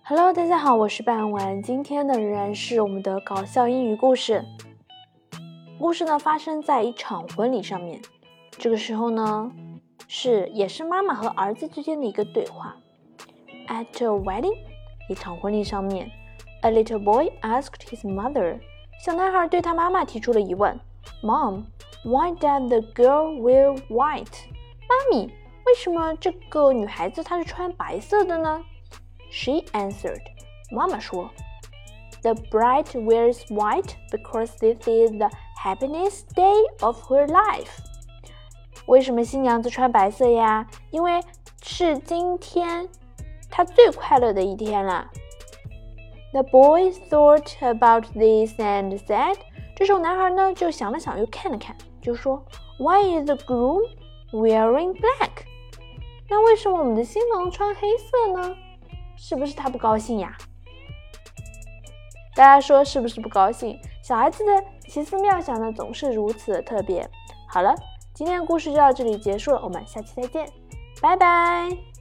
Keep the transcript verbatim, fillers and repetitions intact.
Hello， 大家好，我是半晚。今天的仍然是我们的搞笑英语故事。故事呢发生在一场婚礼上面。这个时候呢，是也是妈妈和儿子之间的一个对话。At a wedding， 一场婚礼上面 ，a little boy asked his mother， 小男孩对他妈妈提出了疑问 ：Mom，why does the girl wear white？ 妈咪，为什么这个女孩子她是穿白色的呢？She answered, 妈妈说 The bride wears white because this is the happiest day of her life. 为什么新娘子穿白色呀？因为是今天她最快乐的一天了。The boy thought about this and said, 这时候男孩呢就想了想又看了看，就说 Why is the groom wearing black? 那为什么我们的新郎穿黑色呢？是不是他不高兴呀？大家说是不是不高兴？小孩子的奇思妙想呢，总是如此的特别。好了，今天的故事就到这里结束了，我们下期再见，拜拜。